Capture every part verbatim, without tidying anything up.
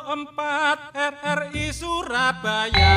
empat R R I Surabaya.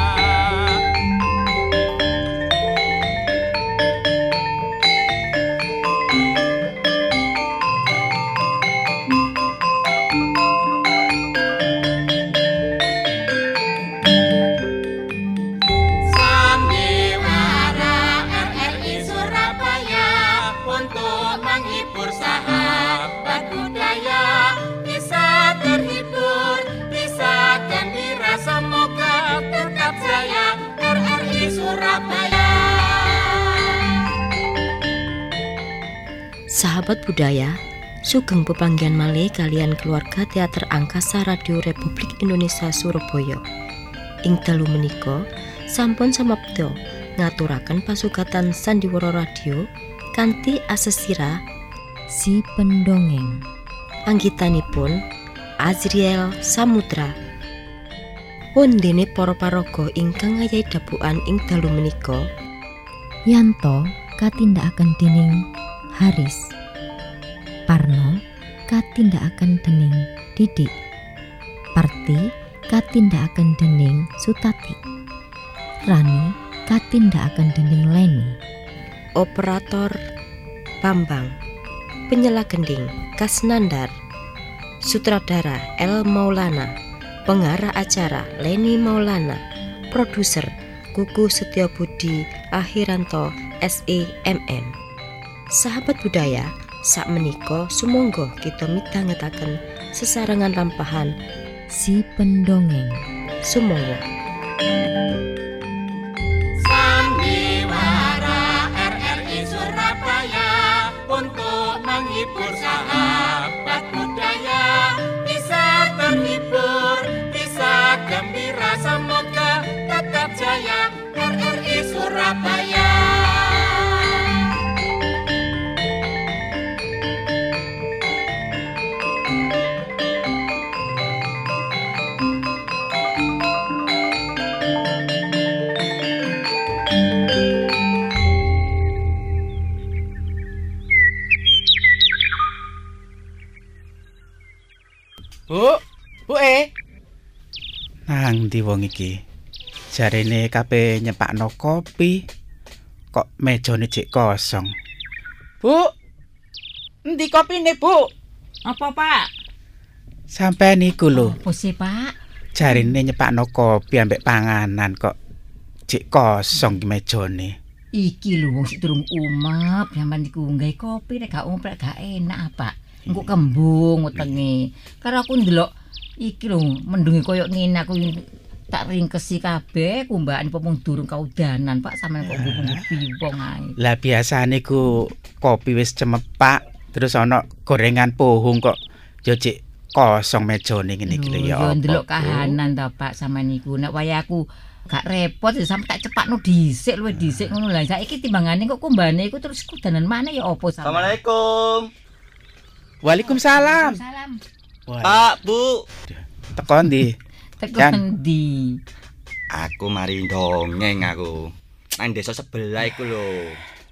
Sahabat budaya, sugeng pepanggihan malih kalian keluarga Teater Angkasa Radio Republik Indonesia Surabaya. Ing dalu menika sampun samapta ngaturaken pasugatan Sandiwara Radio kanthi asesira Si Pendongeng. Anggitanipun Azriel Samudra. Wondene para paraga ingkang ngayahi dabukan ing dalu menika Yanto katindakaken dening Haris, Parno katindakaken dening Didik, Parti katindakaken dening Sutati, Rani katindakaken dening Leni, Operator Bambang, Penyela gending Kasnandar, Sutradara El Maulana, Pengarah acara Leni Maulana, Produser Kuku Setiabudi Akhiranto S E M M. Sahabat budaya, sak menika sumangga kita midhangetaken sesarengan lampahan Si Pendongeng. Sumangga. Sandiwara R R I Surabaya untuk menghibur sahabat budaya, bisa terhibur, bisa gembira, semoga tetap jaya R R I Surabaya. Bu, Bu e. Nang ndi wong iki? Jarene kabeh nyepakno kopi. Kok mejane jek kosong? Bu. Endi kopine, Bu? Apa, Pak? Sampai niku lho. Apa sih, Pak? Jarene nyepakno kopi ambek panganan kok jek kosong ki mejane. Iki lho wong sik durung umap, sampean iku nggawe kopi nek gak umap gak enak, Pak. Engko kembung wetenge. Karo aku ndelok iki lho mendungi koyo ngene aku tak ringkesi kabeh kumbaan pomong durung kaudanan, Pak, sampean kok bumbu piwong ae. Lah biasane ku kopi wis cemepak, terus ana gorengan pohong kok yo jek kosong mejane ngene iki lho ya. Yo ndelok kahanan ta, Pak, sampean niku. Nek waya aku gak repot ya sampe tak cepakno dhisik luwih dhisik ngono lah. Saiki timbangane kok kumbane iku terus kudanan maneh ya apa sampean. Assalamualaikum. Waalaikumsalam. Salam. Pak, Bu. Teko ndi? Teko Jan. endi? Aku mari dongeng aku. Nang desa sebelah iku lho.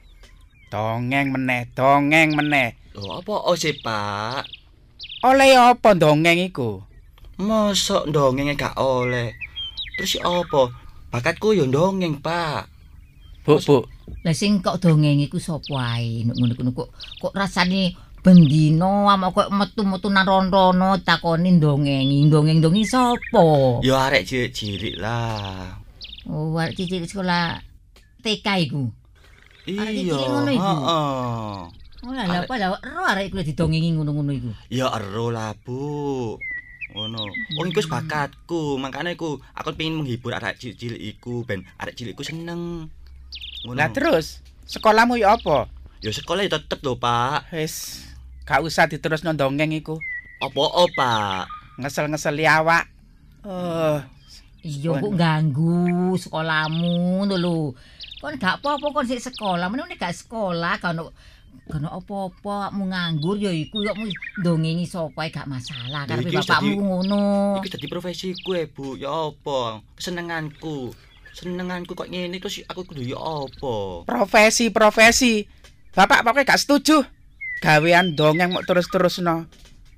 Dongeng meneh, dongeng meneh. Lho, apa oh sih, Pak? Oleh apa dongeng iku? Mosok dongenge gak oleh. Terus apa? Bakatku yo dongeng, Pak. Bu, Bu. Lah sing kok dongeng iku sapa ae? Nek ngono kok kok rasane bendino ama kok metu-metu nang rono takoni dongeng. Dongeng-dongeng sapa? Yo arek cilik-cilik lah. Oh, arek cilik sekolah T K iku. Arek Iya, cilik ngono iku. heeh. Oh lah lha apa lah ero arek iku didongengi ngono-ngono iku. Ya ero lah, Bu. Ngono. Wong iku wis bakatku, makane aku aku pengen menghibur arek cilik-cilik iku ben arek cilikku seneng. Ngono. Lah terus sekolahmu ya apa? Ya sekolah ya tetep lho, Pak. Wis gak usah diterusno dongeng iku. Apa oh, Pak? Ngesel-ngeseli awak. Oh, Iya kok ganggu sekolahmu ngono lho. Kon gak apa-apa kon sik sekolah, meneh nek gak sekolah gak ono gak ono apa-apa mu nganggur ya iku kok mu ndongengi sapa gak masalah karepe Iki wis bapakmu dadi- ngono. Iki dadi profesiku e, Bu. Ya apa? Kesenenganku. Senenganku kok ngene terus aku kudu ya apa? profesi-profesi. Bapak pokoknya gak setuju. Gawean dongeng mau terus-terusno.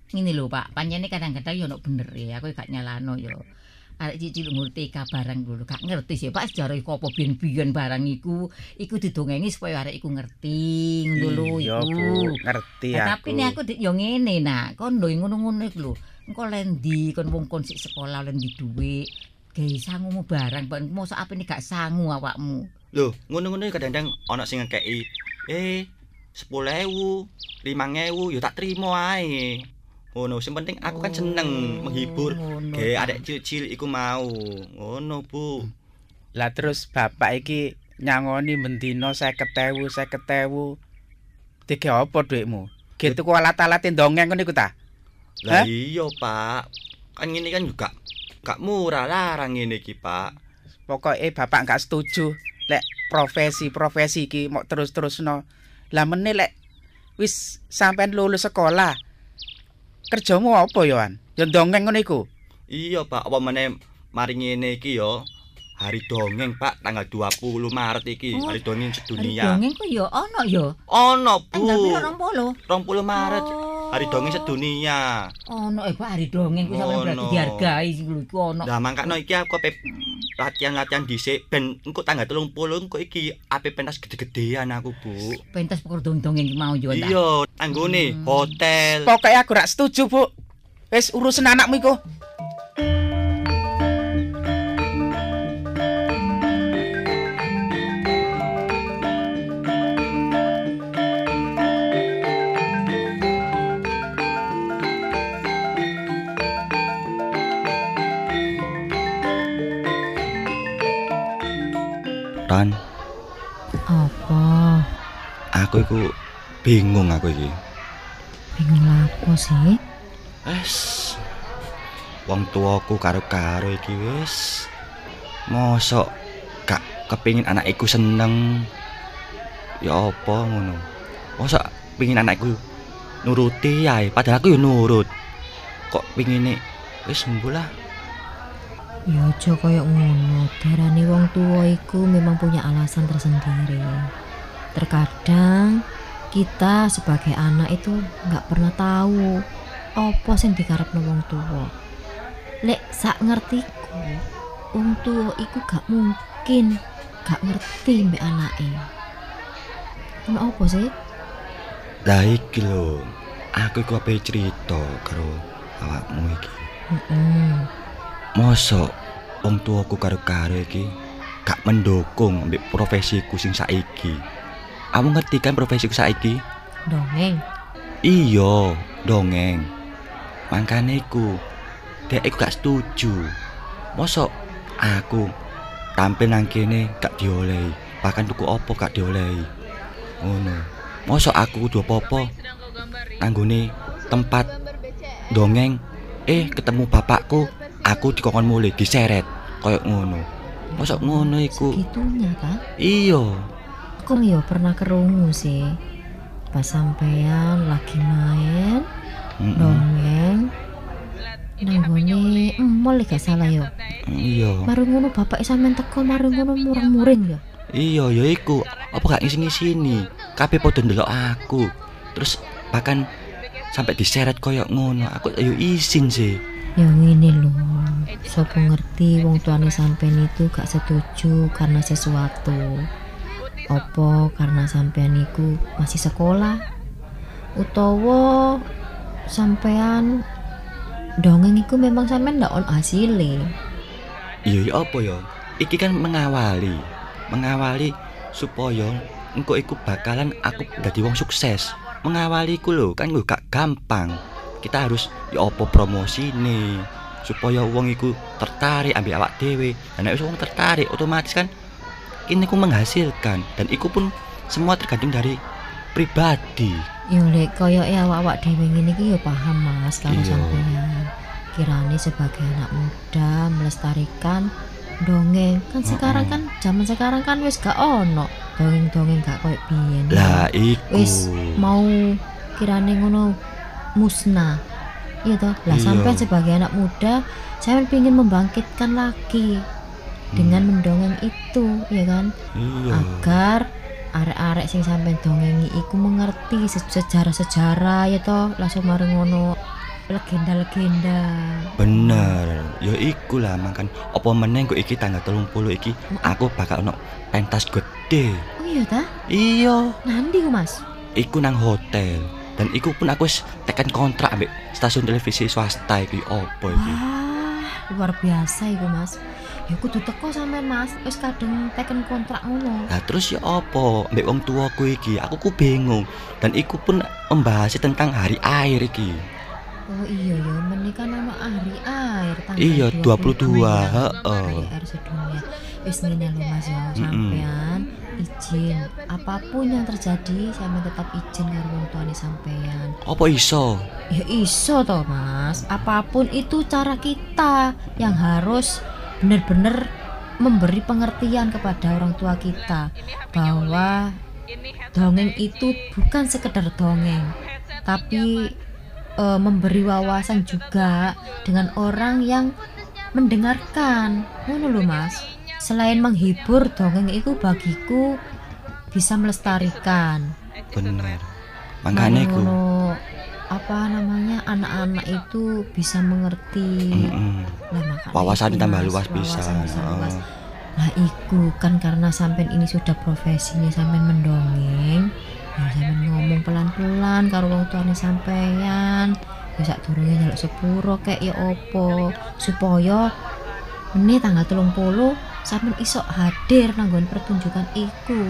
ngene lho Pak, pancene kadang-kadang yo ono bener ya, aku gak nyalano yo. Arek cilik ngerti ka barang lho, gak ngerti sih Pak sejarah iku apa biyen-biyen barang iku, iku didongengi supaya arek iku ngerti ngono lho Iya, iku. Bu, ngerti Nah, aku. tapi nek aku dik yo ngene nak, kon lho ngono-ngono iku lho. Engko lendi kon wong kon sik sekolah lendi dhuwit, gawe sangumu barang, Pak. Mosok apene gak sangu awakmu. Lho, ngono-ngono kadang-kadang ana sing ngekeki eh sepuluh ewu, lima ewu ya tak trimo ae. Ngono, sing penting aku kan seneng Oh, menghibur ngono, gawe Pak. arek cilik-cilik iku mau. Ngono, Bu. Lah terus bapak iki nyangoni mendino seket ewu, seket ewu. Dike apa dhuwitmu? Ge tuku alat-alat ndongeng ngono iku ta? Lah Hah? iya, Pak. Kan ngene kan juga gak murah larang ngene iki, Pak. Pokoke bapak gak setuju lek profesi-profesi iki mau terus-terusno. Lah meneh lek wis sampean lulus sekolah. Kerjamu apa yo an? Yo ndongeng ngono iku. Iya, Pak. Apa meneh mari ngene iki ya. Hari dongeng, Pak, tanggal dua puluh Maret iki, Oh, hari dongeng Hari sedunia. dongeng ku yo ono yo. Ono, Bu. Tanggal piro rong puluh? dua puluh Maret, Oh. hari dongeng sedunia. Ono eh Pak hari dongeng ku sampeyan berarti Ono. dihargai sing lho iku ono. Lah mangkane iki aku ape latihan-latihan dhisik ben engko tanggal telung puluh engko iki ape pentas gede-gedean aku, Bu. Pentas pokoke dongeng iki mau yo ta. Iya, anggone hotel. Pokoke aku gak setuju, Bu. Wis urusan anakmu iku. Ran, Apa? aku iku bingung aku iki. Bingung lapo sih? Wes. Wong tuaku karo-karo iki wis. Mosok gak kepengin anakku seneng. Ya apa ngono. Mosok pengin anakku nuruti ae, padahal aku yo nurut. Kok pengine wis sembuh lah. Ya aja koyo ngono. Darane wong tua iku memang punya alasan tersendiri. Terkadang kita sebagai anak itu nggak pernah tahu apa sing dikarepno wong tua. Lek sak ngertiku, wong tua iku gak mungkin gak ngerti mbek anake. Ono apa sih? Lah iki lho, aku iku ape cerita karo awakmu iki. Heeh. Mosok wong tuaku karo-karo iki gak mendukung ambek profesiku sing saiki. Kamu ngerti kan profesiku saiki? Dongeng. Iya, dongeng. Makane iku dek iku gak setuju. Mosok aku tampil nang kene gak diolehi, bahkan tuku opo gak diolehi. Ngono. Mosok aku kudu apa-apa nanggone tempat dongeng eh ketemu bapakku, aku dikongkon mulih diseret koyo ngono. Mosok ngono iku. Segitunya ta? Iya. Aku yo pernah kerungu sih. Pas sampean lagi main Mm-mm. dongeng nanggone mall gak salah yo. Iya. Marung ngono bapak sampean teko marung ngono murang-muring yo. Iya, ya iku. Apa gak ngisi-ngisini? Kabeh padha ndelok aku. Terus bahkan sampai diseret koyo ngono. Aku ayo izin sih. Ya ngene lho. Sopo ngerti wong tuane sampean itu gak setuju karena sesuatu. Apa karena sampean iku masih sekolah? Utawa sampean dongeng iku memang sampean ndak on hasile. Iya, ya apa ya? Iki kan mengawali. Mengawali supaya engko iku bakalan aku dadi wong sukses. Mengawali iku lho kan lho gak gampang. Kita harus ya apa promosine supaya wong iku tertarik ambil awak dhewe. Dan nek wis wong tertarik otomatis kan ini ku menghasilkan dan iku pun semua tergantung dari pribadi. Yo lek koyoke awak-awak dhewe ngene iki yo paham Mas karo Iya. sampean. Kirane sebagai anak muda melestarikan dongeng. Kan sekarang kan zaman sekarang kan wis gak ono dongeng-dongeng gak koyo biyen. Lah iku. Wis mau kirane ngono musnah. Iya toh. Lah Iya. sampean sebagai anak muda sampean pengin membangkitkan lagi dengan mendongeng itu, ya kan? Iya. Agar arek-arek sing sampean dongengi iku mengerti se- sejarah-sejarah ya toh langsung mareng ngono. legenda-legenda. Bener, ya iku lah makan. Apa meneh kok iki tanggal telung puluh iki aku bakal ono pentas gede. Oh iya ta? Iya, Nandi ku Mas? iku nang hotel. Dan iku pun aku wis tekan kontrak ambek stasiun televisi swasta iki opo iki. Wah, luar biasa iku Mas. Ya kudu teko sampean Mas, wis kadung teken kontrak ngono. Lah terus ya opo ambek wong tuaku iki, aku ku bingung. Dan iku pun membahas tentang hari air iki. Oh iya ya, menikah nama hari air tanggal Iya, dua puluh dua, heeh. Hari air sedunia. Wis ngene lho Mas ya, Mm-mm. sampean izin apapun yang terjadi, sampean tetap izin karo wong tuane sampean. Apa iso? Ya iso toh Mas, apapun itu cara kita yang harus benar-benar memberi pengertian kepada orang tua kita bahwa dongeng itu bukan sekedar dongeng, tapi e, memberi wawasan juga dengan orang yang mendengarkan. Ngono lho Mas. Selain menghibur, dongeng itu bagiku bisa melestarikan. Bener. Makane ku. Ngono, apa namanya, anak-anak itu bisa mengerti. Mm-mm. Lah makanya Wawasan iku, tambah Mas, luas bisa. wawasan bisa luas. Heeh. Lah iku kan karena sampean ini sudah profesinya sampean mendongeng, ya sampean ngomong pelan-pelan karo wong tuane sampean. Ya sak durunge nyeluk sepuro kek ya opo supaya meneh tanggal telung puluh sampean iso hadir nang nggon pertunjukan iku.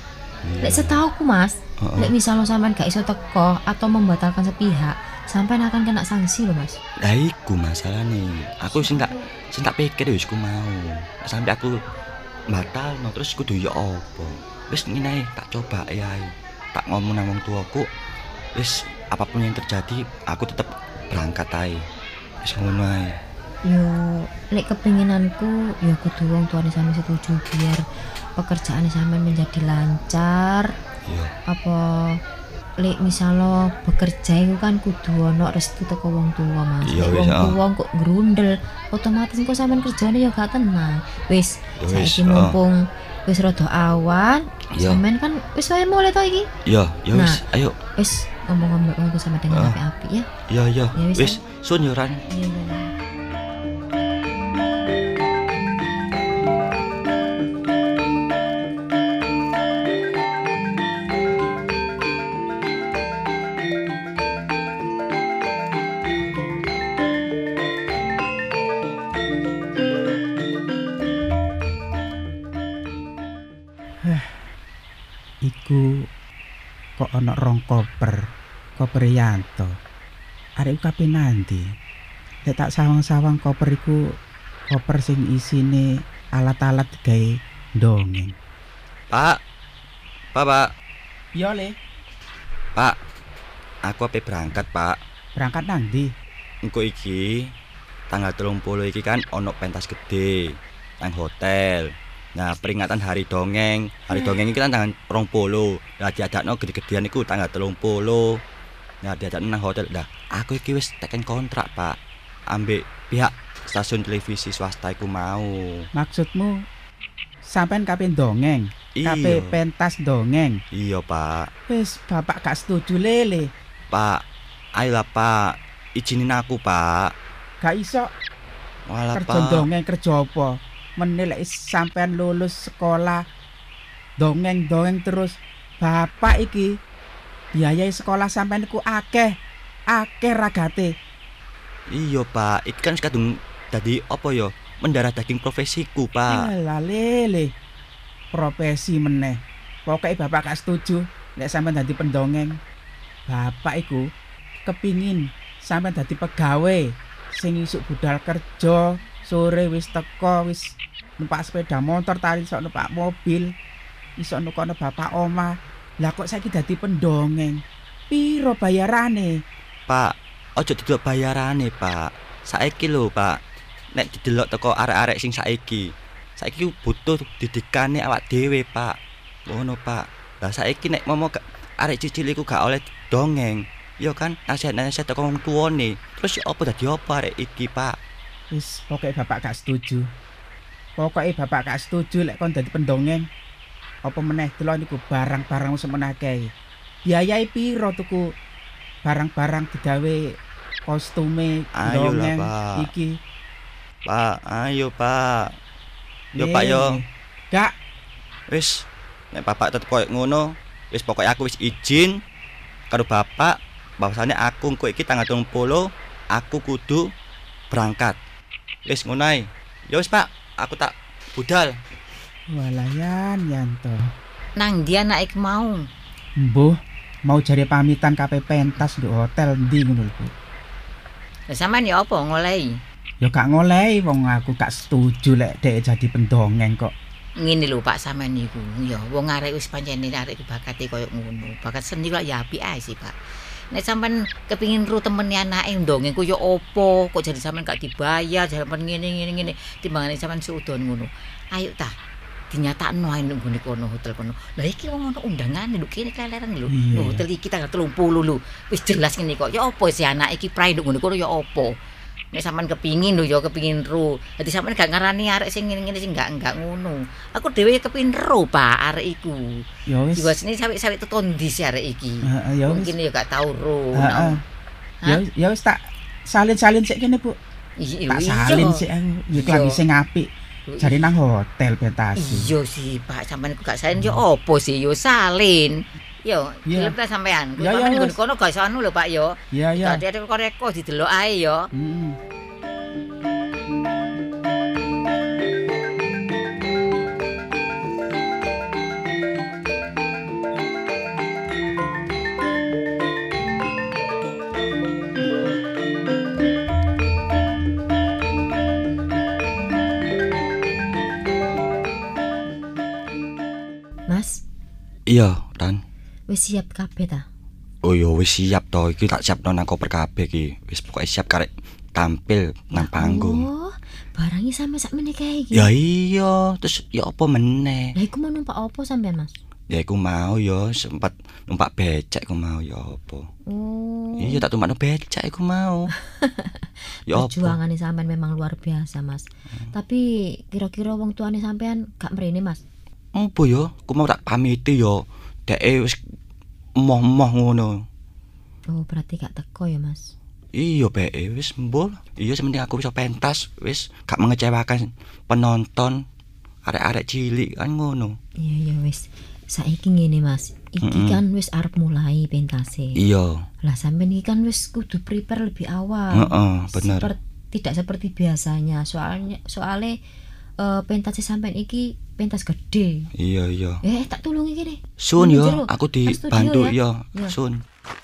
Lek setauku Mas, Heeh. lek misalnya sampean gak iso teko atau membatalkan sepihak, sampean akan kena sanksi loh Mas. Lah iku masalahnya. Aku sing tak sing tak pikir wis ku mau. Sampai aku batal no terus kudu ya apa. Wis ngene ae, tak coba ya. Tak ngomong nang wong tuaku. Wis apapun yang terjadi aku tetap berangkat ae. Wis ngono ae. Yo, lek kepinginanku ya kudu wong tuane sampe setuju biar pekerjaan sampean menjadi lancar. Iya. Apa lek misalo bekerja itu kan kudu ono restu teko wong tua Mas. Iya, Lek wis, wong ah. tua kok grundel, otomatis kok sampean kerjane ya gak tenang. Wis, Ya wis, saiki ah. mumpung wis rada awan, Iya. sampean kan wis wae mulai to iki. Iya, ya wis, ayo. Wis ngomong-ngomong aku sama dengan Ah. api-api ya. Iya, iya. Ya wis, Wis, sun yo Ran. Iya, iya. Iku kok ana rong koper, koper Yanto. Arek iku kape nandi? Lek tak sawang-sawang koper iku koper sing isine alat-alat gawe dongeng. Pak. Pak, Pak. Iya, Le. Pak. Aku ape berangkat, Pak. Berangkat nang ndi? Engko iki tanggal telung puluh iki kan ono pentas gede nang hotel. Nah, peringatan hari dongeng. Hari dongeng iki kan tanggal rong puluh. Lah diadakno gede-gedean iku tanggal telung puluh. Nah, diadakno nang hotel. Lah, aku iki wis teken kontrak, Pak. Ambek pihak stasiun televisi swasta iku mau. Maksudmu sampean kape dongeng? Iya. Kape pentas dongeng? Iya, Pak. Wis bapak gak setuju, Lele. Pak, ayolah, Pak. Izinin aku, Pak. Gak iso Walah, kerja Pak. dongeng kerja apa? Meneh lek sampean lulus sekolah dongeng-dongeng terus, bapak iki biayai sekolah sampean iku akeh, akeh ragate. Iya, Pak. Iki kan kadung dadi apa ya? Mendarah daging profesiku, Pak. Alah Lele, profesi meneh. Pokoke bapak gak setuju lek sampean dadi pendongeng. Bapak iku kepingin sampean dadi pegawai sing isuk budal kerja, sore wis teko, wis numpak sepeda motor, tari iso numpak mobil, iso nukono bapak omah. Lah kok saiki dadi pendongeng? Piro bayarane? Pak, ojo didelok bayarane, Pak. Saiki lho, Pak. Nek didelok teko arek-arek sing saiki. Saiki ku butuh didikane awak dhewe, Pak. Ngono, Pak. Lah saiki nek momo gak arek cicil iku gak oleh dongeng, ya kan nasihat-nasihat teko wong tuane. Terus ya apa dadi apa arek iki, Pak? Wis pokoke bapak gak setuju. Pokoke bapak gak setuju lek kon dadi pendongeng. Apa meneh delok niku barang-barang wis meneh akeh. Biayai piro tuku barang-barang digawe kostume Ayo lah, dongeng Pak. iki. Pak, ayo Pak. Yo Nih, Pak yo. Kak, Wis, nek bapak tetep koyo ngono, wis pokoke aku wis izin karo bapak bahwasane aku engko iki tanggal tiga puluh aku kudu berangkat. Wis ngono ae. Ya wis Pak, aku tak budal. walayan Yanto. Nang dia naik mau. Mbuh, mau jare pamitan K P pentas di hotel ndi ngono lho, Bu. Lah sampean ya apa ngolehi? Ya gak ngolehi wong aku gak setuju lek dhek jadi pendongeng kok. Ngene lho Pak sampean niku ya wong arek wis pancene arek bakate koyo ngono. Bakat seni kok ya apik ae sih Pak. Nek sampean kepengin ru temene anake ndongeng ku ya apa? Kok jadi sampean gak dibayar, sampean ngene ngene ngene timbangane sampean suudon ngono. Ayo ta dinyatakno ae nang ngene kono hotel kono. Lah iki wong ono undangane lho kene keleren lho. Iya, Lho, hotel iki tanggal tiga puluh lho. Wis jelas ngene kok. Ya apa si anak iki prae nduk ngene kono ya apa? Nek sampean kepingin lho ya kepingin ro. Dadi sampean gak ngarani arek sing ngene-ngene sing gak enggak ngono. Aku dhewe kepingin ro, Pak, arek iku. Ya wis. Jiwasine sawik-sawik teton ndi si arek iki. Heeh, ya wis. Mungkin ya gak tau ro. Heeh. Ya wis- ya wis tak salin-salin sik kene, Bu. Iya, Tak iya. salin sik aku. Ya Iya. lagi sing apik. Jare nang hotel pentasi. Iya sih, Pak, sampean iku gak salin yo opo sih? Yo salin. Yo, Iya. gelem ta sampean. Ya, ya, Sampean wis. nggon kono gak iso anu lho, Pak yo. Iya, iya. Dadi ada koreko didelok ae yo. Heeh. Mas, Iya, Ran. wis siap kabeh ta? Oh yo wis siap to, iki tak siapno nang koper kabeh iki. Wis pokoke siap karek tampil nang panggung. Oh, barangnya sampe sak meneh kae iki. Ya iya, terus ya apa meneh? Lah iku mau numpak opo sampean, Mas? Ya iku mau yo sempat numpak becak iku mau ya apa. Oh. Iya tak tumpakno becak iku mau. Ya apa? Perjuangane sampean memang luar biasa, Mas. Tapi kira-kira wong tuane sampean gak mrene, Mas? Apa yo? Ku mau tak pamiti yo. Deke wis emoh-emoh ngono. Oh, berarti gak teko ya, Mas? Iya beke wis mbul. Iya sementing aku bisa pentas wis gak mengecewakan penonton. Arek-arek cilik kan ngono. Iya, ya wis. Saiki ngene, Mas. Iki Mm-mm. kan wis arep mulai pentase. Iya. Lah sampean iki kan wis kudu prepare lebih awal. Heeh, bener. Seper- tidak seperti biasanya. Soalnya soale eh, pentase sampean iki pentas gede. Iya iya. Eh, tak tulungi kene. Sun Nang yo, jero. aku Nang studio dibantu ya. yo. Ya. Sun.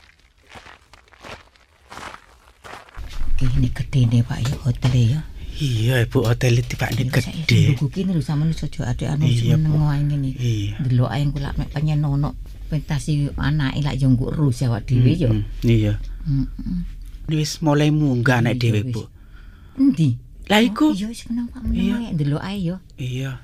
Kene gede ne Pak yo hotel ya. Iya, Ibu, hotel iki pakne gede. Buku kene lho sampean iso aja ade anu Iya, seneng Bu. wae ngene. Iya. Delok ae engko lak mek penyen ono pentasi anake lak yo nggo ru awak dhewe yo. Mm, Iya. Heeh. Wis mulai munggah nek Iya, dhewe, wis. Bu. Endi? Lah iku. Oh, iya wis meneng Pak Iya. meneng ae delok ae yo. Iya.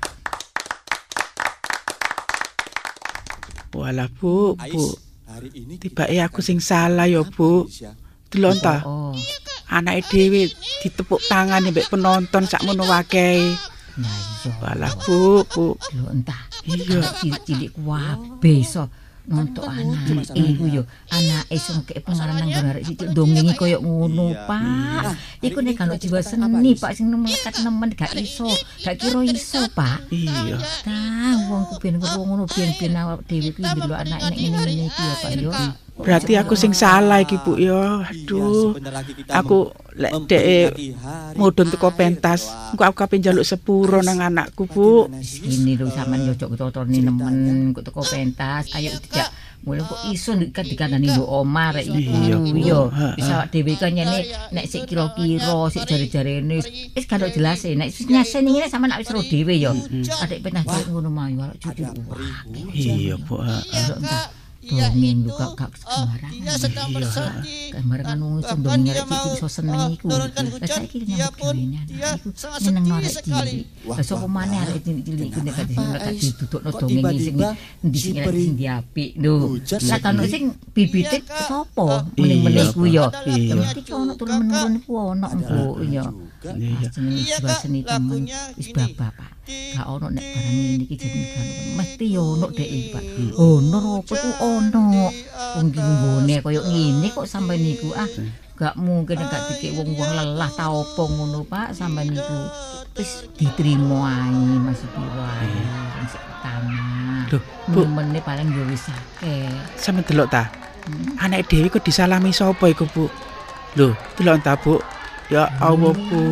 Walah, Bu, Bu. Tibake aku sing salah ya, Bu. Delok ta, Oh. anake dhewe ditepuk tangan mbek penonton sakmono wakehe. Nah iya. Walah, Bu, Bu. Lho entah. Iya. Cilik-cilik kabeh iso nonton anak iku yo anake iso ngekek pengaran nang arek sithik dongengi koyo ngono Pak. Iku nek kan jiwa seni Pak sing melekat nemen gak iso, gak kira iso Pak. Iya. Tah wong ku ben ngono ben-ben awak dhewe kuwi ndelok anak nek ngene-ngene iki ya Pak yo. Berarti aku sing salah iki, Bu, ya. Aduh. Aku lek dhek mudhun teko pentas, engko aku kape njaluk sepuro nang anakku, Bu. Ini lho sampean yo cok totone nemen kok teko pentas. Ayo dijak mulai kok iso kan dikandani mbok omah rek iku Iya, Bu. yo. Ha, Wis awak dhewe kan nyene nek sik kira-kira sik jare-jarene wis gak jelas e. Nek wis nyaseni ngene sampean wis ro dhewe yo. Adek pentas ngono mah yo cucu. Iya, Bu. heeh. Dongeng juga gak sembarangan. Iya, sembarangan wong iso dongeng arek cilik iso seneng iku. Lah saiki nyambut gawene anak iku seneng arek cilik. Lah sapa maneh arek cilik-cilik iku nek gak gak didudukno dongeng sing endi sing arek sing diapik lho. Lah kan sing bibite sapa mending-mending iku yo. Iya. Mesti ono turun menurun iku ono engko yo. Iya. Jenenge jiwa seni temen wis babak Pak. Gak ono nek barang ngene iki jenenge kan mesti yo ono dek iki Pak. Ono apa iku ono. Wong iki nggone koyo ngene kok sampe niku ah gak mungkin gak dikek wong-wong lelah ta opo ngono Pak sampean niku wis diterima ae Mas Piwai sing pertama. Loh, Bu, meneh paling yo wis akeh. sampe delok ta. Anak dhewe kok disalami sapa iku, Bu? Lho, delok ta, Bu? Ya Allah, Bu.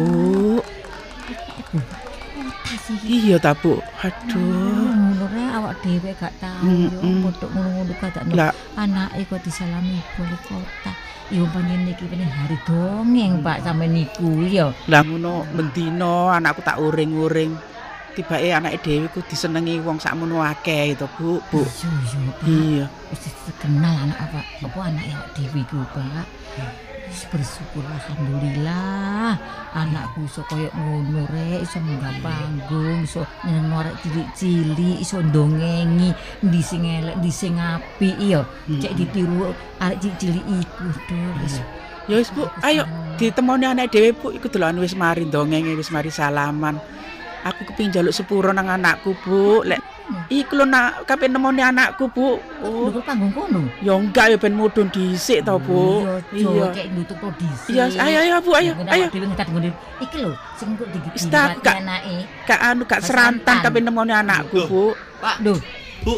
Iya ta, Bu. Aduh. Ngono re awak dhewe gak tau Mm, yo mm. podo ngono-ngono kadakno. Lah, Anake kok disalami wali kota. Ya panjenengan iki pengen hari dongeng Pak sampean niku ya. lah ngono mendino anakku tak uring-uring. Tibake anake dhewe ku disenengi wong sakmono akeh to, Bu. Bu. Iya iya Pak. Iya. Wis terkenal anak apa apa anake awak dhewe iku Pak. Wis bersyukur alhamdulillah anakku iso koyo ngono rek iso munggah panggung iso nyeneng cilik-cilik iso ndongengi ndi sing elek ndi sing apik ya cek ditiru arek cilik iku Dul wis Ya wis, Bu. Ayo ditemoni anak dhewe, Bu. Iku delokan wis mari ndongenge, wis mari salaman. Aku kepengin njaluk sepuro nang anakku, Bu. Lek iku lho nak kape nemoni anakku, Bu. oh lho panggung kono Ya enggak ya ben mudhun dhisik to, Bu. iya cek nutup to dhisik Iya, ayo ayo Bu, ayo. Ayo. dhewe ngetat ngene iki lho sing kok Wis tak, digigit Kak. anake Gak anu gak serantan kape nemoni anakku, Bu. lho Bu,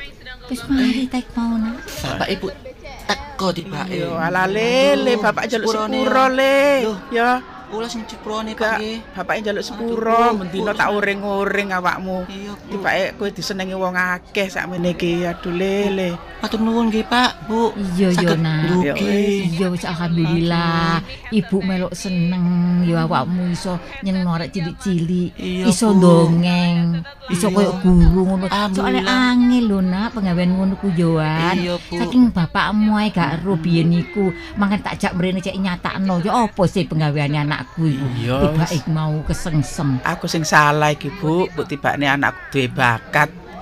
wis mari tek mau nak bapak ibu teko tibake. Yo ala lele, bapak njaluk sepurone, sepuro le. Loh. Ya, Ula sing ciprone gak Pak nggih. bapak njaluk Aduh, sepuro, Bu, mendino Bu. tak uring-uring awakmu. Iya, Bu. Tibake kowe disenengi wong akeh sakmene iki. Aduh lele. Matur nuwun nggih, Pak, Bu. iya yo Saged nak ndugi. iya wis alhamdulillah ibu melok seneng ya awakmu iso nyeneng arek cilik-cilik Iya, iso Bu. dongeng iso Iya. koyo guru ngono soalnya Alhamdulillah. angel lho nak penggawean ngono ku yoan Iya, Bu. saking bapakmu ae gak ero biyen niku mangan tak jak mrene cek nyatakno ya apa sih penggaweane anakku iku Iya. tiba-ik mau kesengsem Aku sing salah iki, Bu. Bu tibake anakku duwe bakat.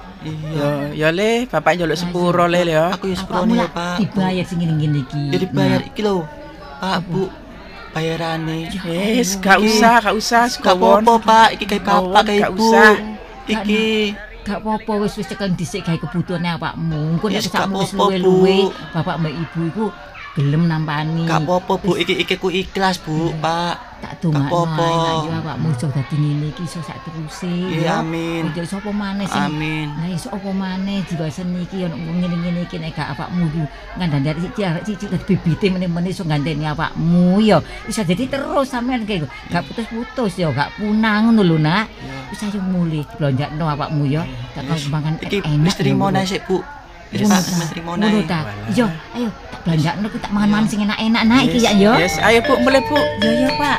Iya. Yo, yo le, bapak njaluk sepuro le ya. Aku ya Awakmu seprone ya, lah Pak. dibayar sing ngene-ngene iki Ya dibayar Nak. iki lho. Pak, Bu. Bayarane. Wis, gak usah, gak usah Gak sekawon. apa-apa, Pak. Iki kayak Kawon, bapak kayak gak Ibu. usah. Iki. Gak apa-apa wis wis tekan dhisik gawe kebutuhane awakmu. Engko nek Yes, sakmu gak wis apa-apa, luwe-luwe, Bu. bapak mbak ibu iku gelem nampani. Gak apa-apa, Bu. Iki iki ku ikhlas, Bu, Pak. Tak dongakno apa-apa. ae yo awakmu iso dadi ngene iki iso sak teruse Iya, amin. Jadi sapa maneh sing Amin. Nah iso apa maneh diwasen iki ono ngene-ngene iki nek gak awakmu ku ngandani arek cici arek cici dadi bibite meneh-meneh iso gandeni awakmu yo. Iso dadi terus sampean kaya gak putus-putus yo, gak punang ngono lho nak. Wis ayo mulih blonjakno awakmu yo. Tak Yes. mangan Iki enak. wis trimo lho. nae sik, Bu. Wis Ngono Pak, ta? wis trimo Ngono nae. ta? Iya, ayo tak belanjakno ku tak mangan-mangan sing enak-enak nak iki ya yo. Yes, ayo Bu, mulai Bu. Yo yo Pak.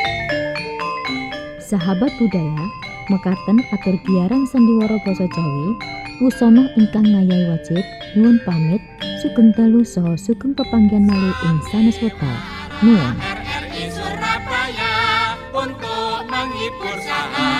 Sahabat budaya, mekaten atur biaran sandiwara basa Jawi, wusana ingkang ngayahi wajib, nyuwun pamit, sugeng dalu saha sugeng pepanggihan malih ing sanes wekdal. Nuwun. R R I Surabaya untuk menghibur sahabat.